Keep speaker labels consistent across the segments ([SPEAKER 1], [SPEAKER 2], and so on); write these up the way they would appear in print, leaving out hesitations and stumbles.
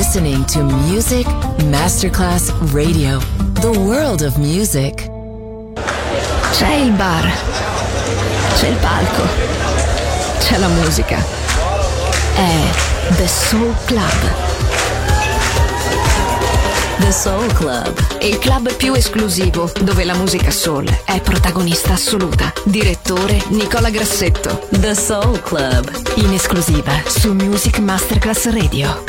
[SPEAKER 1] listening to Music Masterclass Radio, the world of music.
[SPEAKER 2] C'è il bar, c'è il palco, c'è la musica. È The Soul Club.
[SPEAKER 1] The Soul Club,
[SPEAKER 2] Il club più esclusivo dove la musica soul è protagonista assoluta. Direttore Nicola Grassetto.
[SPEAKER 1] The Soul Club,
[SPEAKER 2] In esclusiva su Music Masterclass Radio.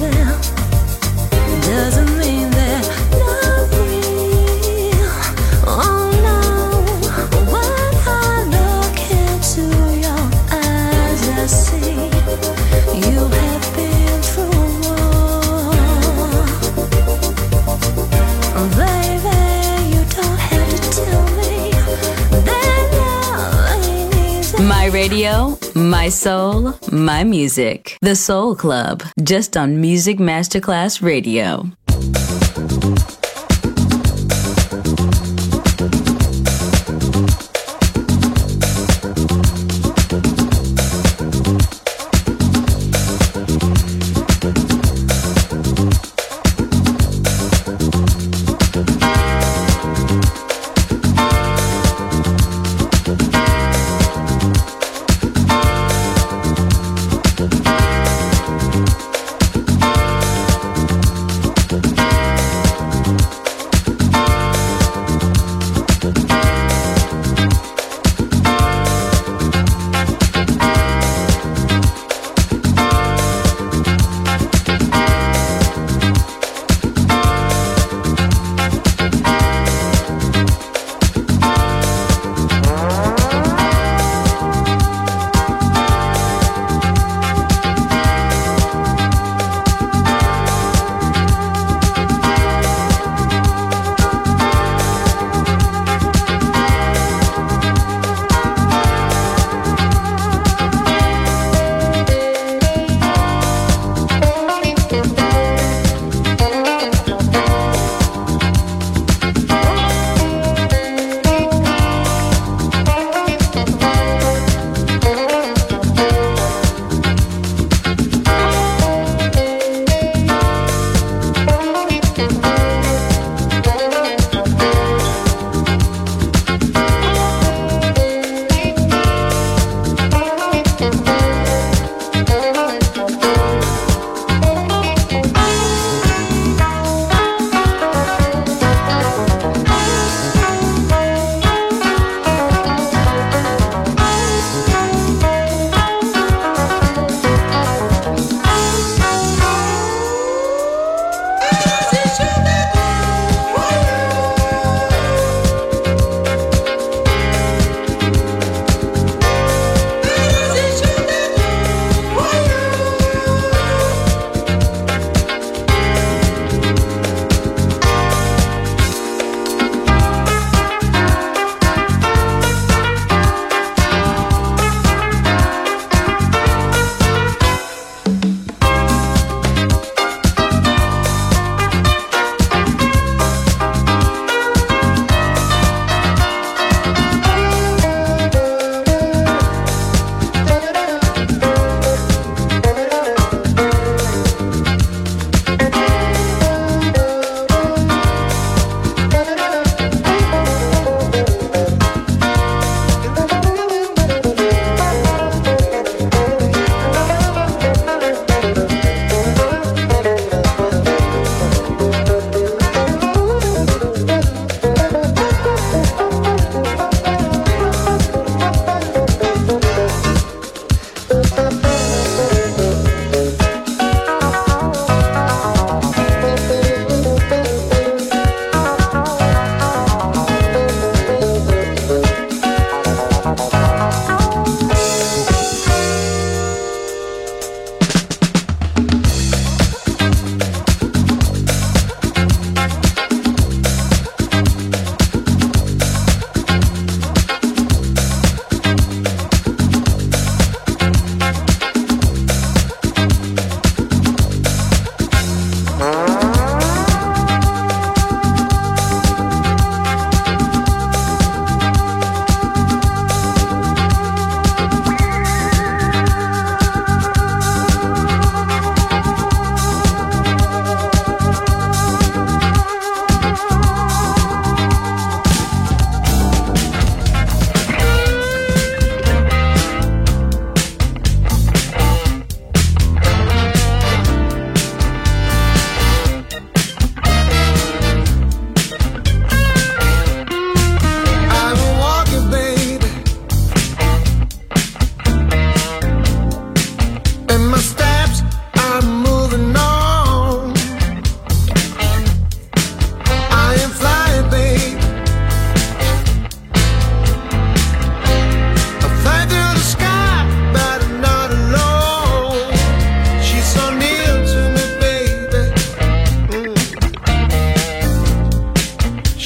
[SPEAKER 3] them doesn't mean they're not real. Oh no, when I look into your eyes, I see you have been through a war. Baby, you don't have to tell me that love ain't easy.
[SPEAKER 1] My radio, my soul, my music. The Soul Club, just on Music Masterclass Radio.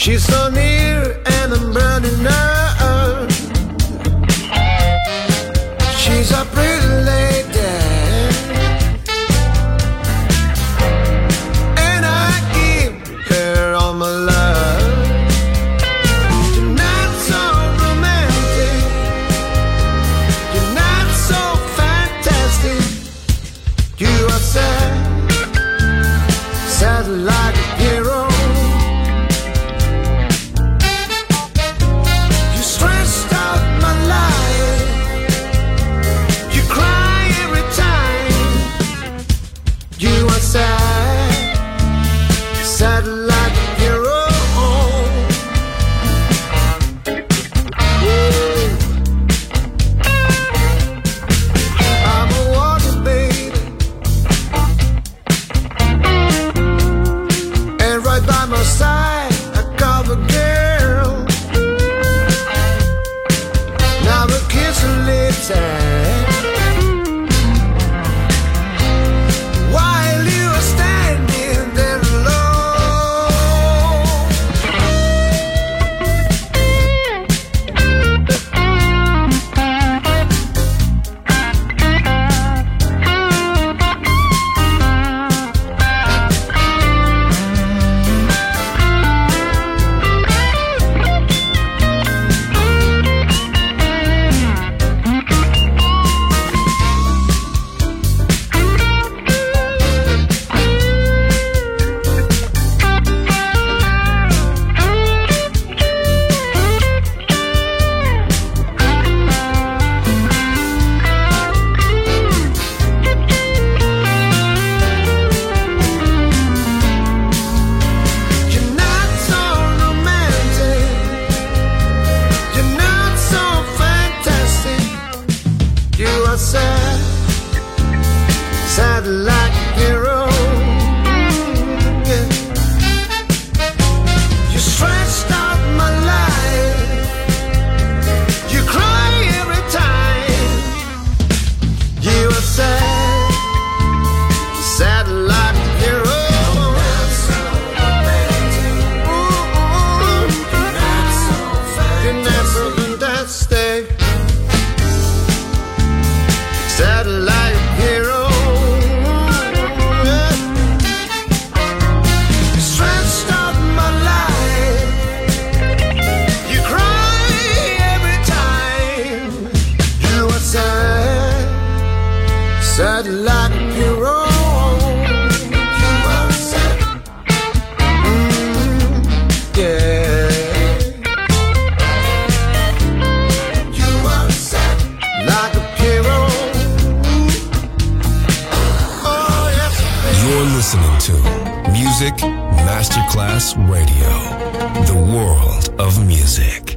[SPEAKER 4] She's so near and I'm burning her. She's a pretty lady, and I give her all my love. You're not so romantic, you're not so fantastic. You are sad, sad like a hero. Sad like a hero. I'm a water baby, and right by my side a cover girl. Now we're kissing lips while you are standing there alone. Sad like a hero. Yeah. You stretched out my life. You cry every time. You are sad, sad like a hero. You're not so fantastic. Sad like a hero. Sad like a hero. You are sad. Yeah. You are sad like a hero. Oh, yes.
[SPEAKER 5] You're listening to Music Masterclass Radio, the world of music.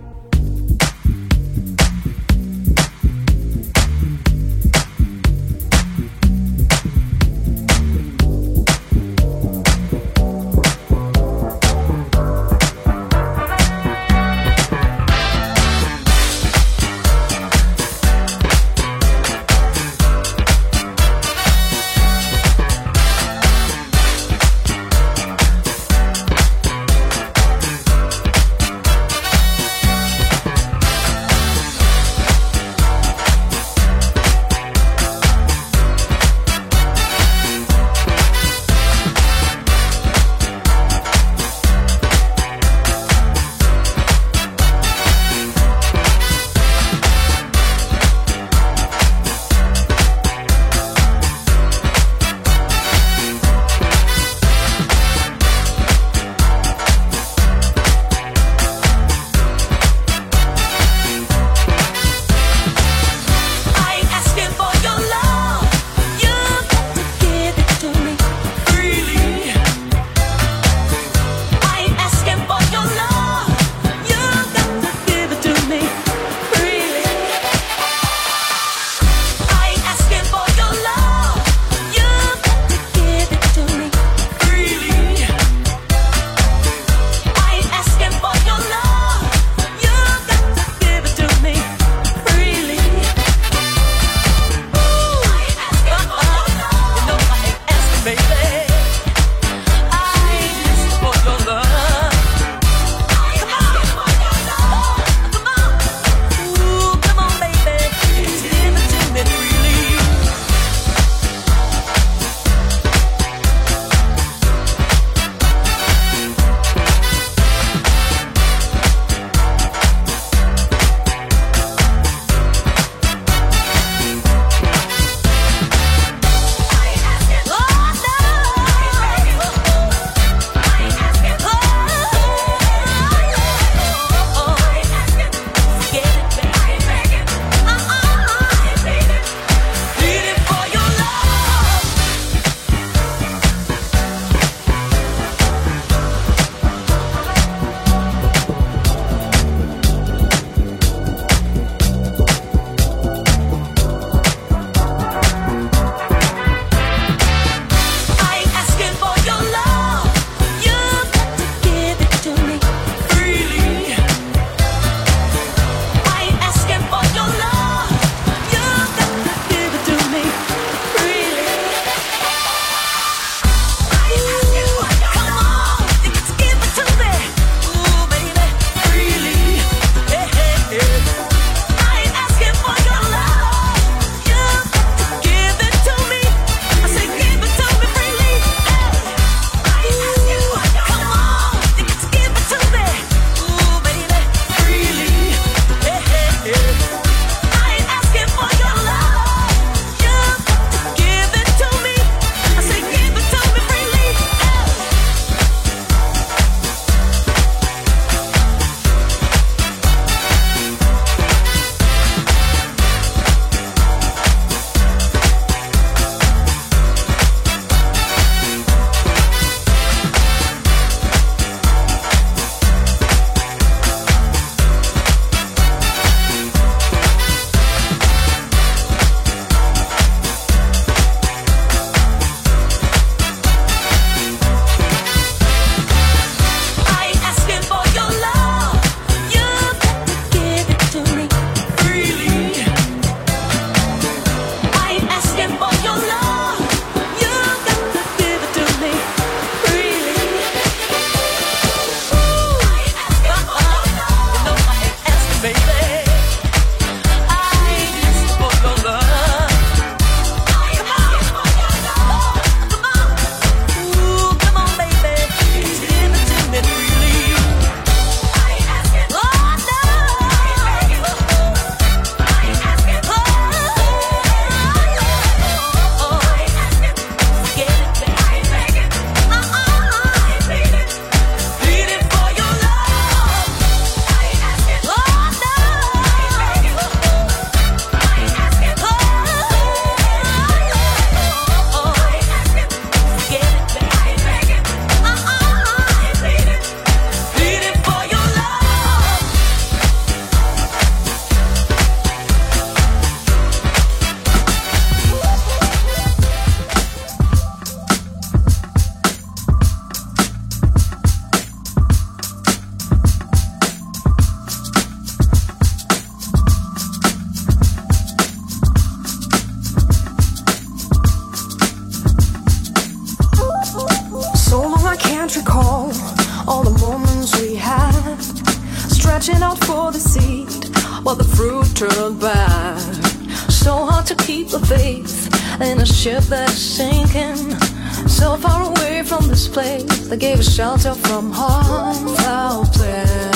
[SPEAKER 3] can't recall all the moments we had, stretching out for the seed, but the fruit turned bad. So hard to keep the faith in a ship that is sinking, so far away from this place that gave us shelter from harm. Foul play,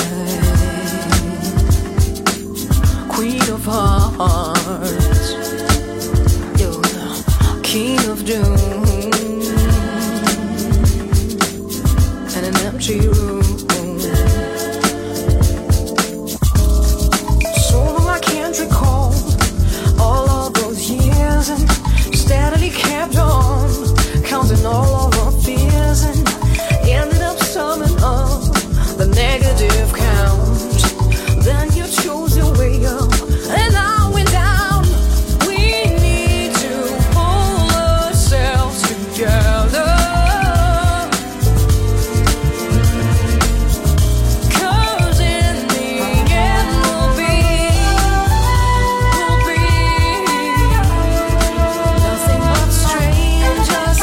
[SPEAKER 3] queen of hearts, you're the king of doom, in an empty room. So long I can't recall all of those years, and steadily kept on counting all of our fears, and ended up summing up the negative count. Then you chose your way up, and I went down. We need to pull ourselves together, 'cause in the end we'll be nothing but strangers.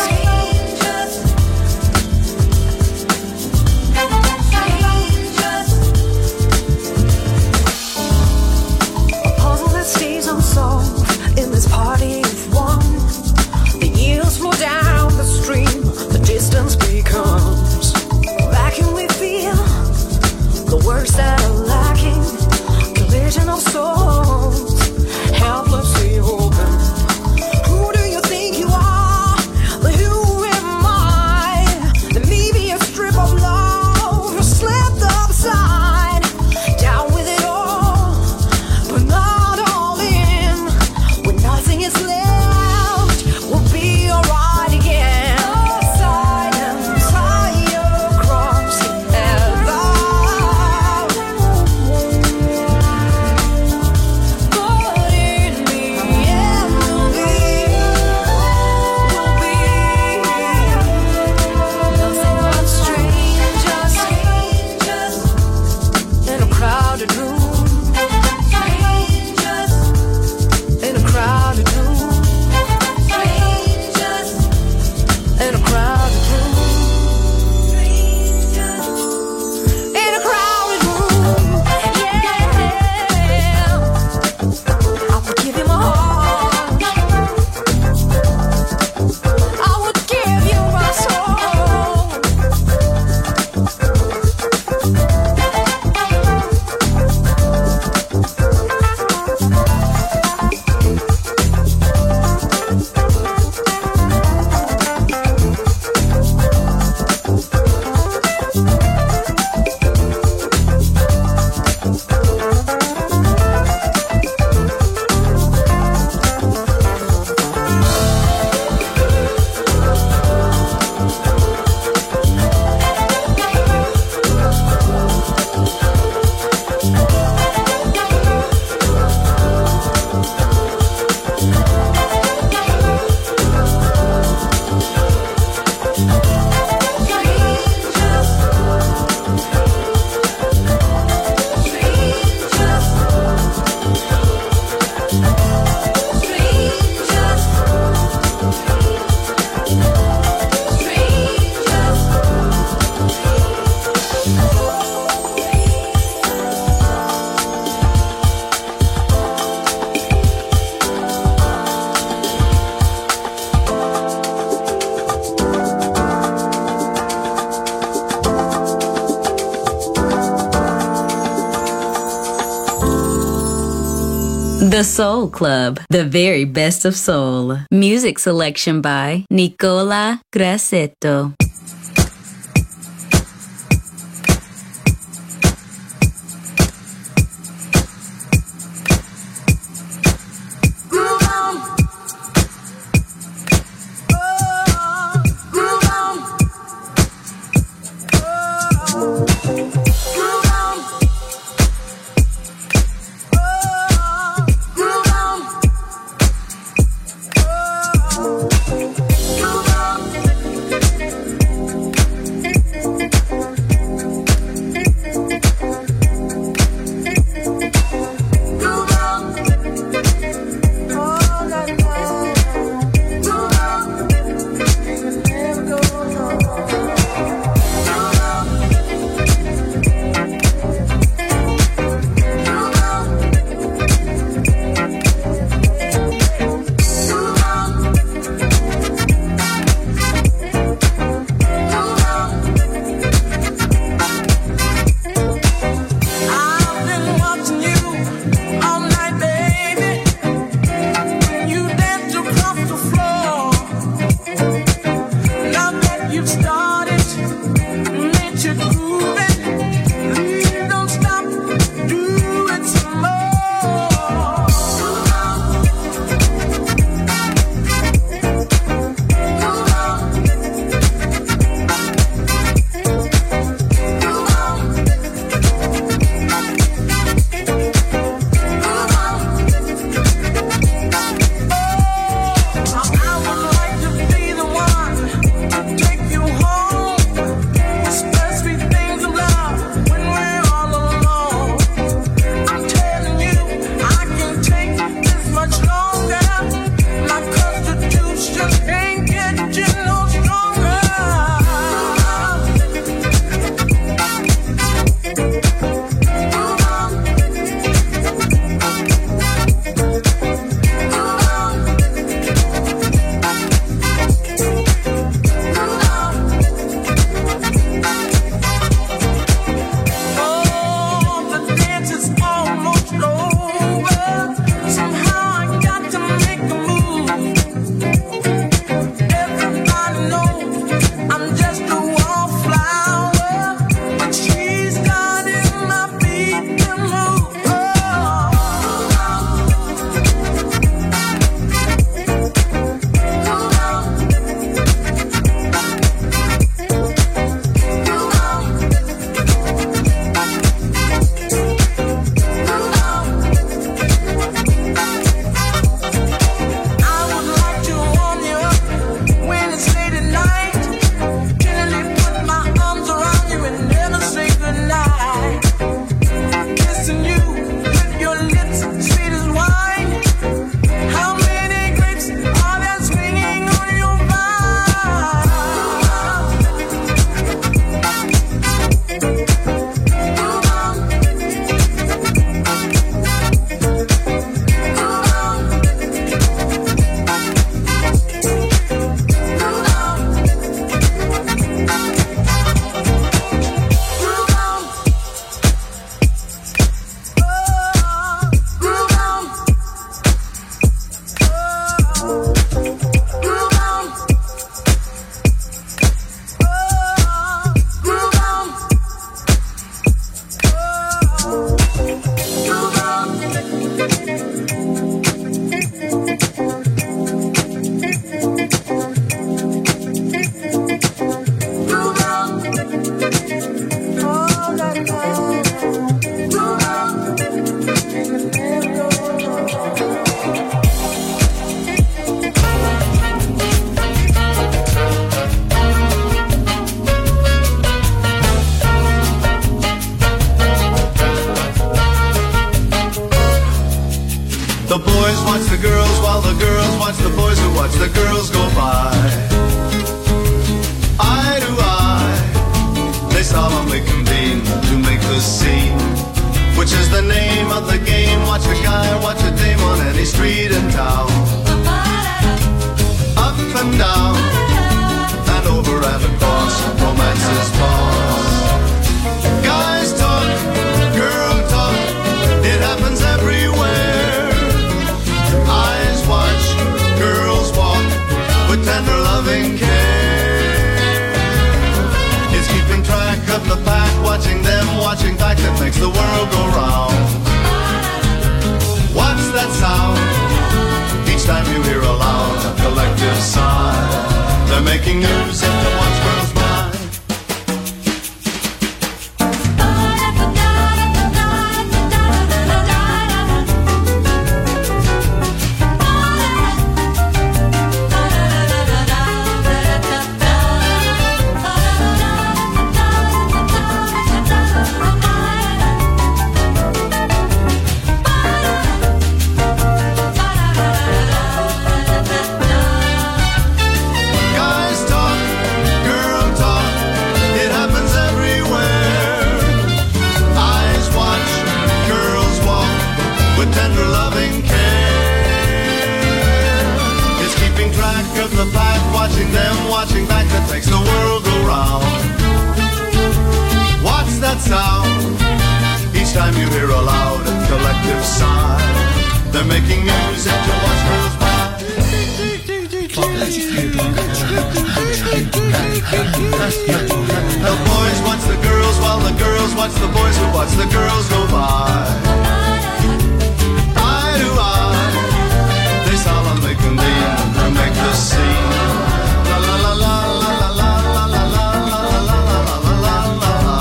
[SPEAKER 3] A puzzle that stays unsolved in this party of one. The years flow down the stream, the distance becomes vacuum. We feel the words that are lacking, collision of souls, helplessly hoping. Who do you think you are? But who am I? There may be a strip of love who slipped upside down with it all, but not all in. When nothing is left, we'll be alright again. Side and side across together. But in the end we'll be nothing but strangers in a crowded room. In a crowded room. In a crowded room. In a crowded room. Yeah. I would give you my heart. I would give you my soul.
[SPEAKER 1] The Soul Club, the very best of soul. Music selection by Nicola Grassetto.
[SPEAKER 3] Groove on. Hey,
[SPEAKER 6] watch the boys who watch the girls go by. Eye to eye, they solemnly convene to make the scene. La la la la la la la la la la la la la la la la la.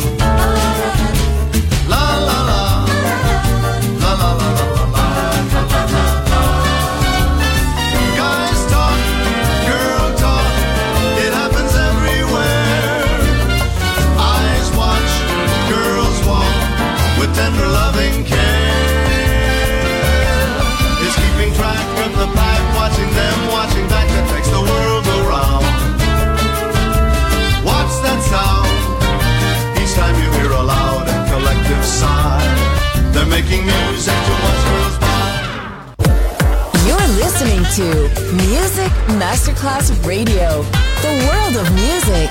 [SPEAKER 6] La la la la la la la la la. Guys talk, girl talk, it happens everywhere. Eyes watch, girls walk with tender loving care. It's keeping track of the pack, watching them, watching back, that makes the world go round. What's that sound? Each time you hear a loud and collective sigh, they're making music to watch girls by.
[SPEAKER 2] You're listening to Music Masterclass Radio, the world of music.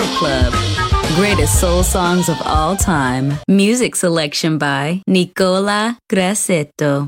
[SPEAKER 1] Club. Greatest soul songs of all time. Music selection by Nicola Grassetto.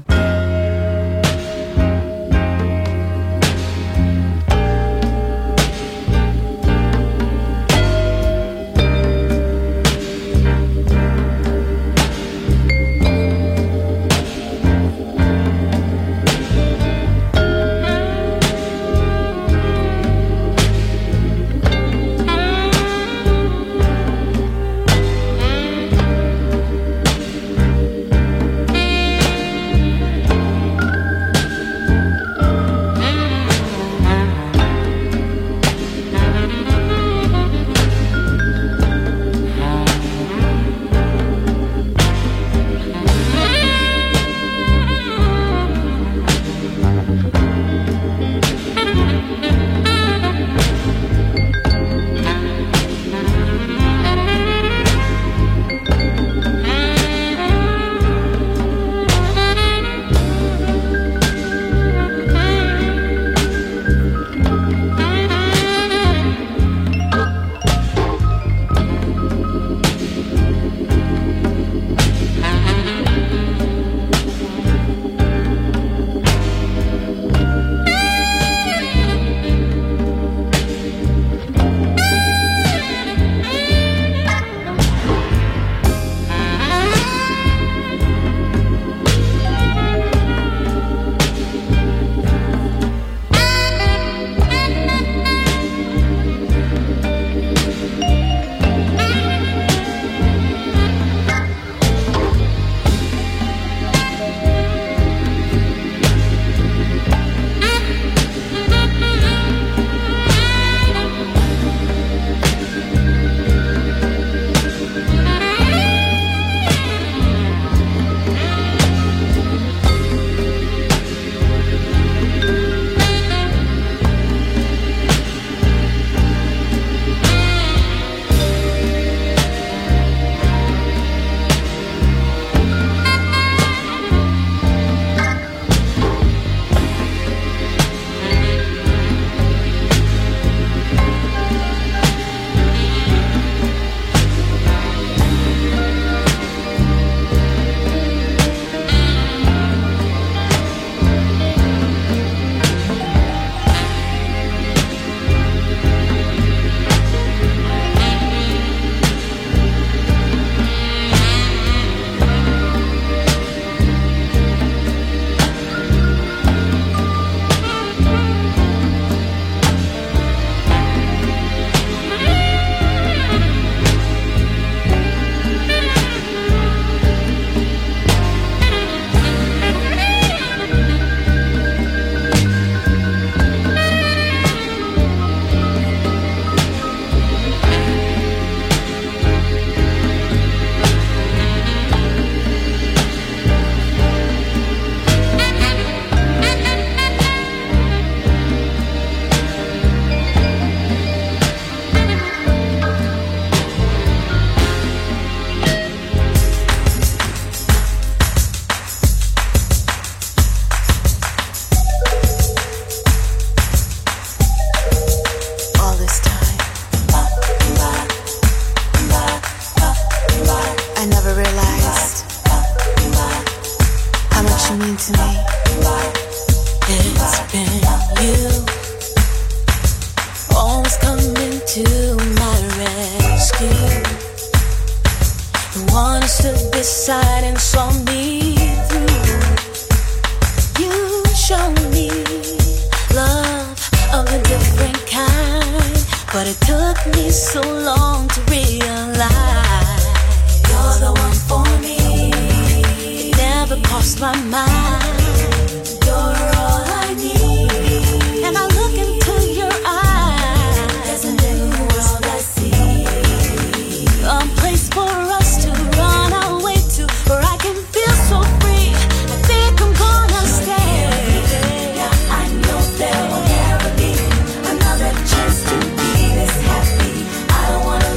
[SPEAKER 3] I don't wanna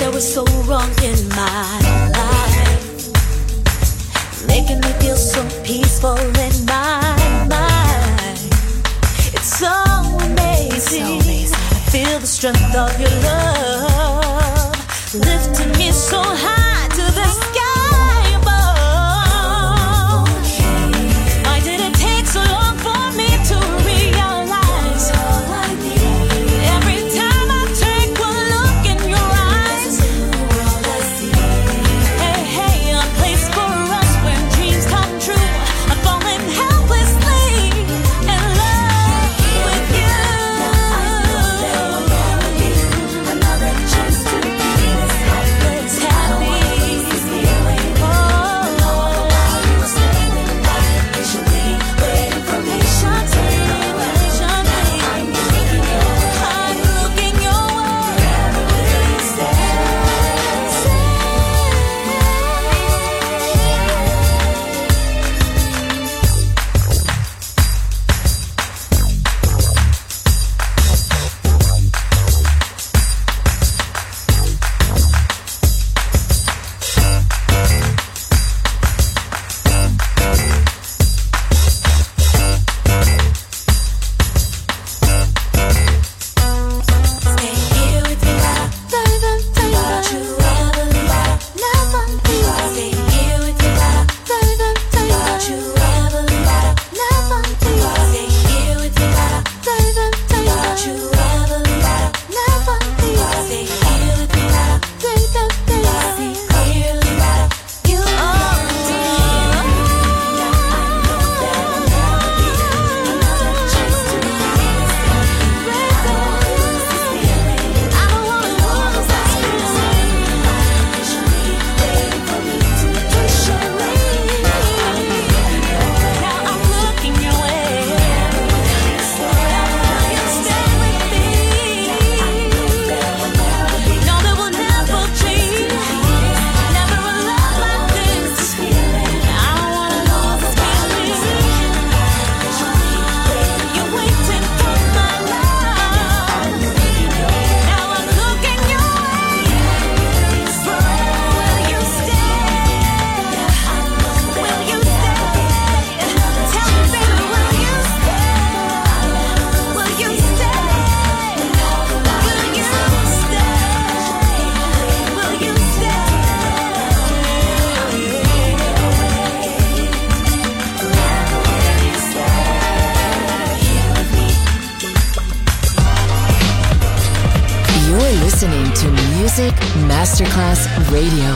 [SPEAKER 7] that was so wrong in my life, making me feel so peaceful in my mind. It's so amazing. I feel the strength of your love, lifting me so high to the sky above. Why did it take so long for me to realize? Every time I take one look in your eyes, hey, hey, a place for us when dreams come true. I'm falling helplessly in love with you. Another chance to be this helpless, happy. Oh, while you were standing by patiently waiting for me, patiently. I'm looking your way. Wherever will you stay? Stay here with me now. Don't you ever leave. Never leave. Stay here with me now. Don't you ever leave. Never leave. Stay here with me now. Don't you ever leave. Never leave. Stay here with me now. See clearly that you are. Another chance to be this I don't wanna lose this feeling. Patiently waiting for me to push away. Now I'm looking your way. Wherever you stay with me. No, there will never change. Never a love like this. I don't wanna lose this feeling. You're waiting for my love. Now I'm looking your way. Forever will you stay? Will you stay? Tell me, baby, will you stay? Will you stay? Will you stay? Will you
[SPEAKER 2] You're listening to Music Masterclass Radio.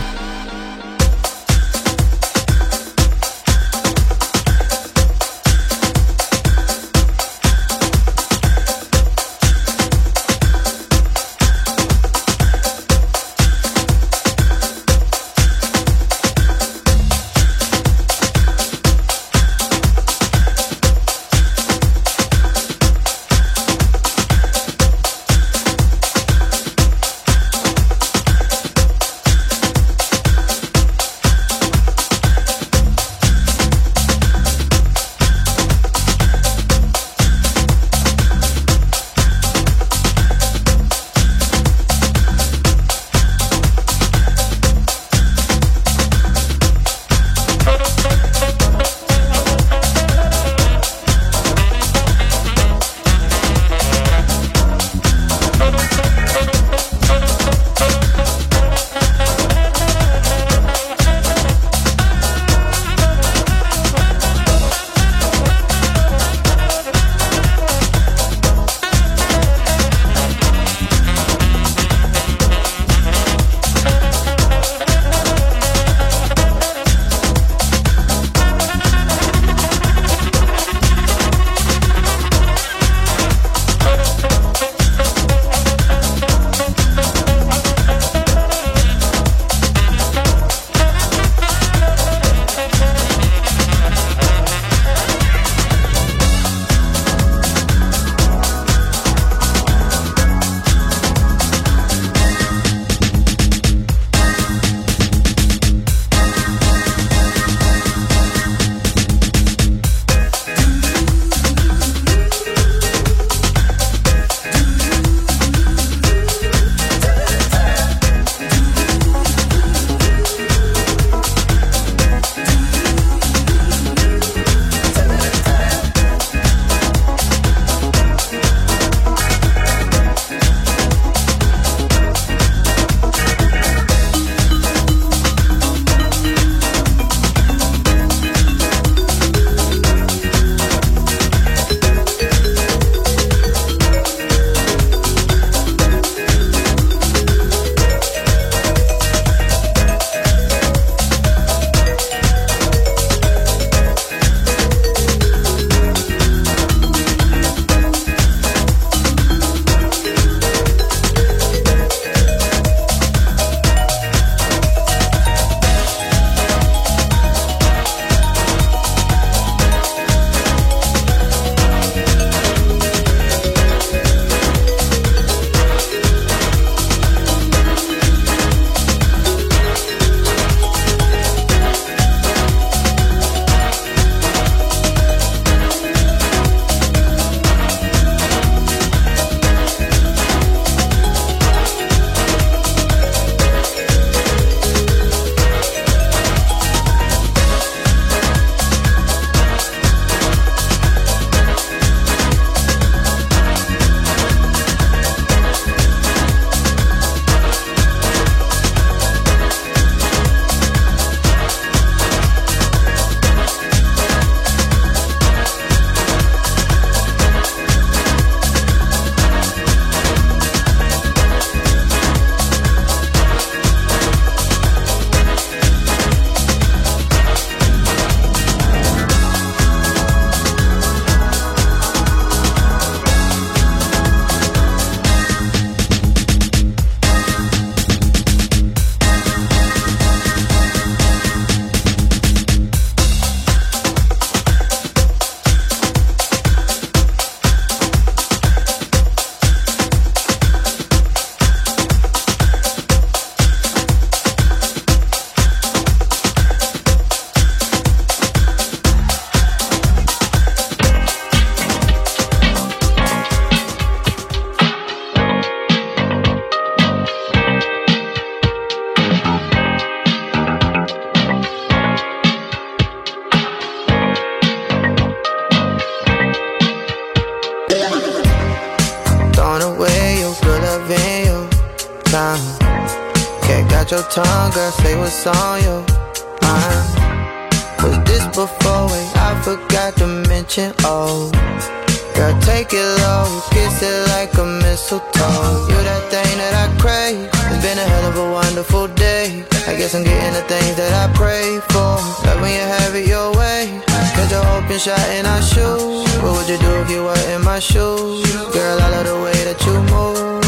[SPEAKER 4] Can't got your tongue, girl, say what's on your mind. Was this before? Wait, I forgot to mention, oh. Girl, take it low, kiss it like a mistletoe. You that thing that I crave. It's been a hell of a wonderful day. I guess I'm getting the things that I pray for. Love when you have it your way. Catch a open shot in our shoes. What would you do if you were in my shoes? Girl, I love the way that you move.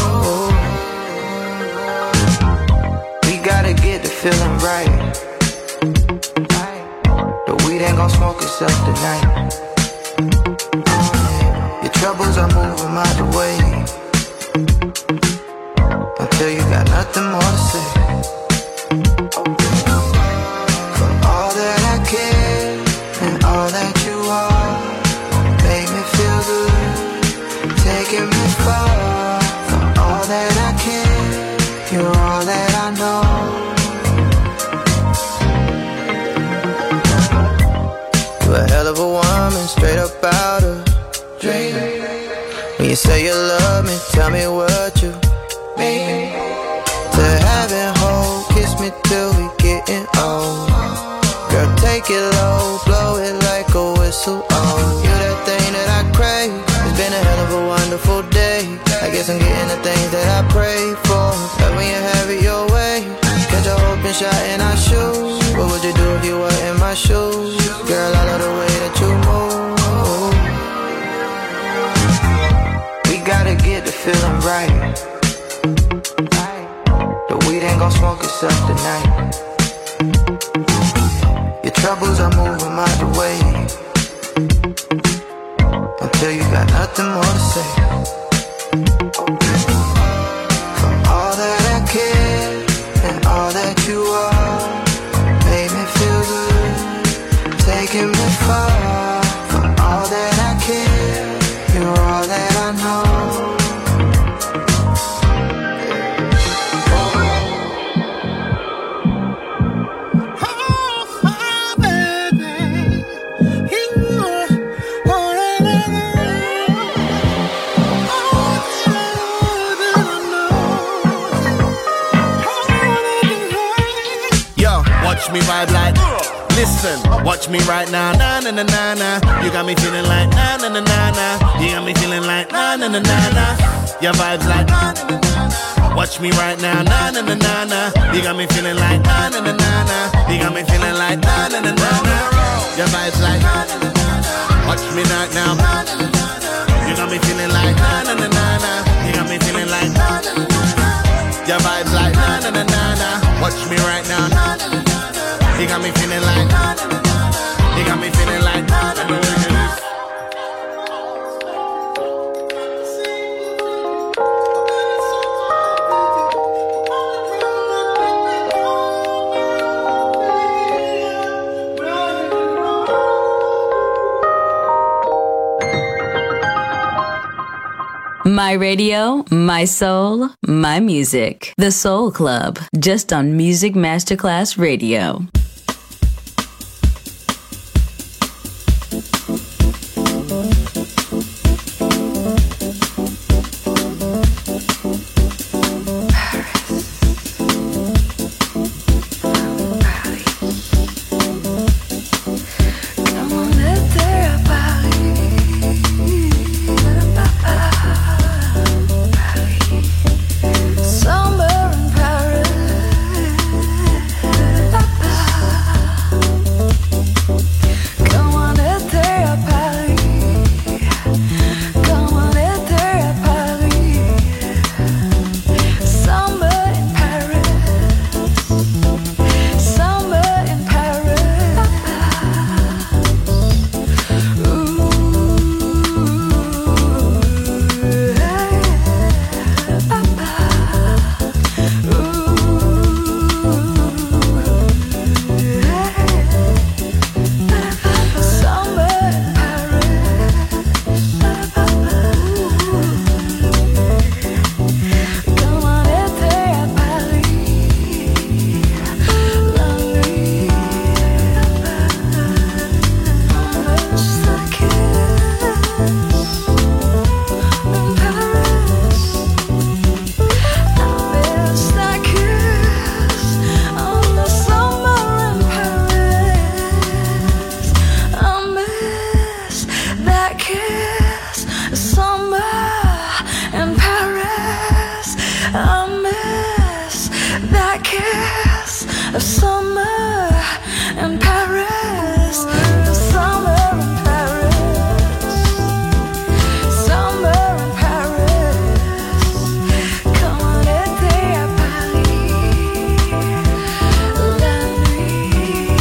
[SPEAKER 4] We gotta get the feeling right. The weed ain't gon' smoke itself tonight. Your troubles, I move them out the way. Until you got nothing more to say. For all that I care and all that you are, make me feel good, taking me far. For all that I care, you're all that I know. You're a hell of a woman, straight up out of dream. When you say you love me, tell me what you mean. To have it whole, kiss me till we getting old. Girl, take it low, blow it like a whistle, oh. You that thing that I crave. It's been a hell of a wonderful day. I guess I'm getting the things that I pray for. Love when you have it your way. Catch a open shot in our shoes. What would you do if you were in my shoes? Girl, I love the way that you move. Gotta get the feeling right. The weed ain't gon' smoke itself tonight. Your troubles, I move them out the way. Until you got nothing more to say. For all that I care and all that you are, made me feel good, taking me far. For all that I care, you're all that I know.
[SPEAKER 8] Watch me vibe like, listen, watch me right now, na na na na na. You got me feeling like na na na na na. You got me feeling like na na na na na. Your vibes like na na na na. Watch me right now, na na na na na. You got me feeling like na na na na na. You got me feeling like na na na na na. Your vibes like na na na na. Watch me right now, na na na na. You got me feeling like na na na na na. You got me feeling like na na na na. Your vibes like na na na na na. Watch me right now, na na na na. You got me feeling like, you got me feeling like,
[SPEAKER 1] My radio, my soul, my music. The Soul Club, just on Music Masterclass Radio.
[SPEAKER 7] Somewhere in Paris.
[SPEAKER 3] I miss that kiss of summer in Paris. Summer in Paris. Summer in Paris. Come on, été à Paris. La nuit.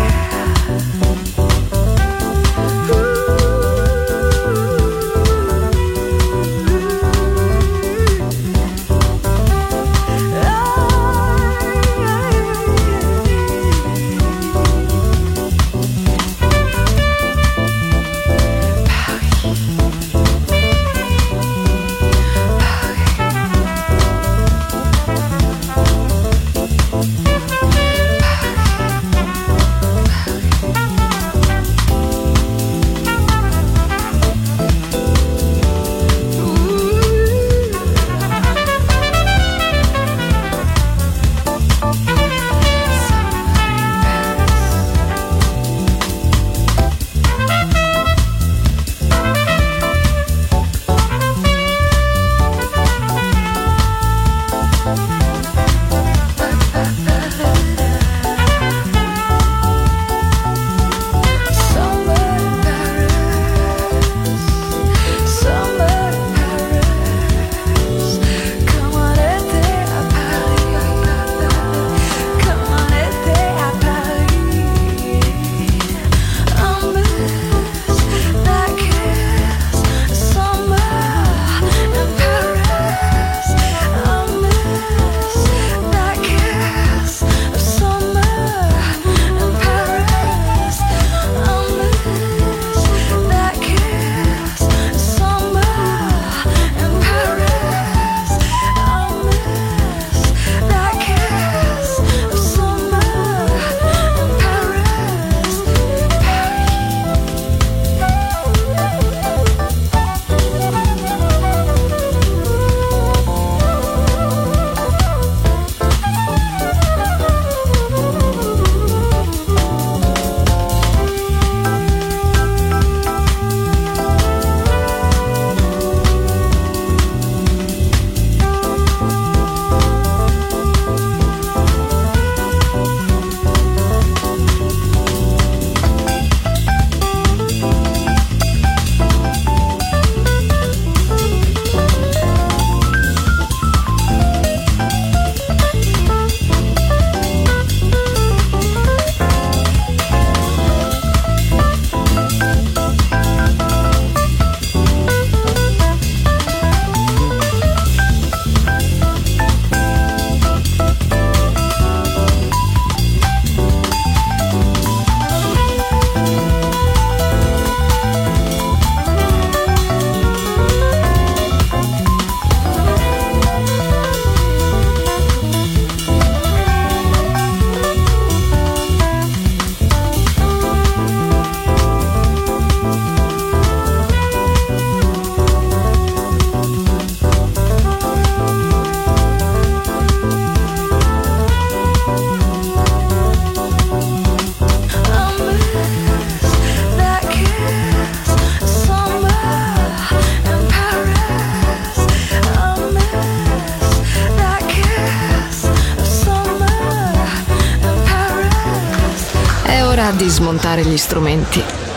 [SPEAKER 2] Di smontare gli strumenti,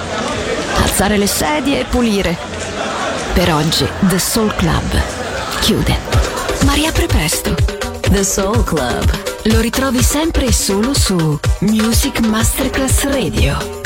[SPEAKER 2] alzare le sedie e pulire. Per oggi The Soul Club chiude, ma riapre presto.
[SPEAKER 1] The Soul Club
[SPEAKER 2] lo ritrovi sempre e solo su Music Masterclass Radio.